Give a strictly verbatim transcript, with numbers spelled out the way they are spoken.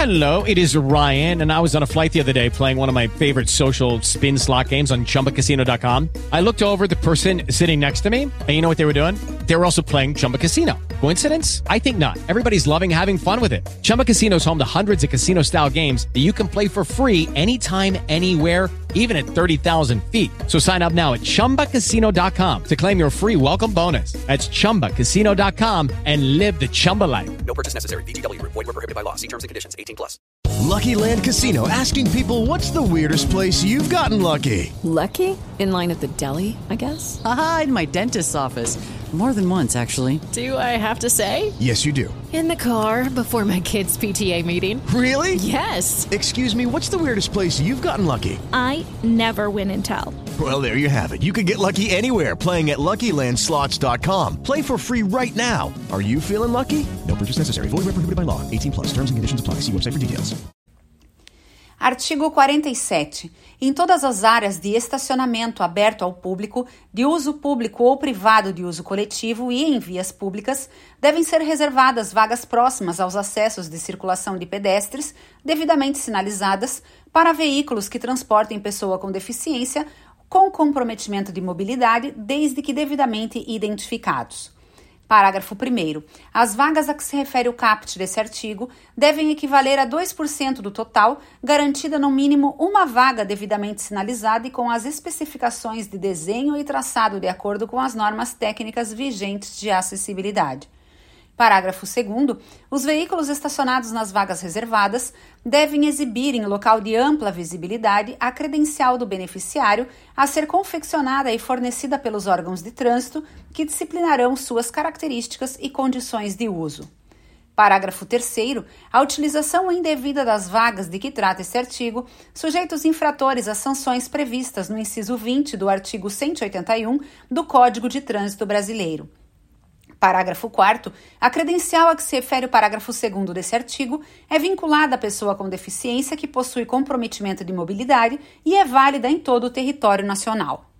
Hello, it is Ryan, and I was on a flight the other day playing one of my favorite social spin slot games on Chumba Casino dot com. I looked over at the person sitting next to me, and you know what they were doing? They were also playing Chumba Casino. Coincidence? I think not. Everybody's loving having fun with it. Chumba Casino is home to hundreds of casino-style games that you can play for free anytime, anywhere, even at thirty thousand feet. So sign up now at Chumba Casino dot com to claim your free welcome bonus. That's Chumba Casino dot com and live the Chumba life. No purchase necessary. V G W. Void where prohibited by law. See terms and conditions. eighteen plus. Lucky Land Casino, asking people, what's the weirdest place you've gotten lucky? Lucky? In line at the deli, I guess? Aha, in my dentist's office. More than once, actually. Do I have to say? Yes, you do. In the car before my kids' P T A meeting. Really? Yes. Excuse me, what's the weirdest place you've gotten lucky? I never win and tell. Well, there you have it. You can get lucky anywhere, playing at Lucky Land Slots dot com. Play for free right now. Are you feeling lucky? No purchase necessary. Void where prohibited by law. eighteen plus. Terms and conditions apply. See website for details. Artigo quarenta e sete. Em todas as áreas de estacionamento aberto ao público, de uso público ou privado de uso coletivo e em vias públicas, devem ser reservadas vagas próximas aos acessos de circulação de pedestres, devidamente sinalizadas, para veículos que transportem pessoa com deficiência com comprometimento de mobilidade, desde que devidamente identificados. Parágrafo primeiro. As vagas a que se refere o caput desse artigo devem equivaler a dois por cento do total, garantida no mínimo uma vaga devidamente sinalizada e com as especificações de desenho e traçado de acordo com as normas técnicas vigentes de acessibilidade. Parágrafo segundo. Os veículos estacionados nas vagas reservadas devem exibir em local de ampla visibilidade a credencial do beneficiário a ser confeccionada e fornecida pelos órgãos de trânsito que disciplinarão suas características e condições de uso. Parágrafo terceiro. A utilização indevida das vagas de que trata esse artigo sujeita os infratores às sanções previstas no inciso vinte do artigo cento e oitenta e um do Código de Trânsito Brasileiro. Parágrafo quarto. A credencial a que se refere o parágrafo segundo desse artigo é vinculada à pessoa com deficiência que possui comprometimento de mobilidade e é válida em todo o território nacional.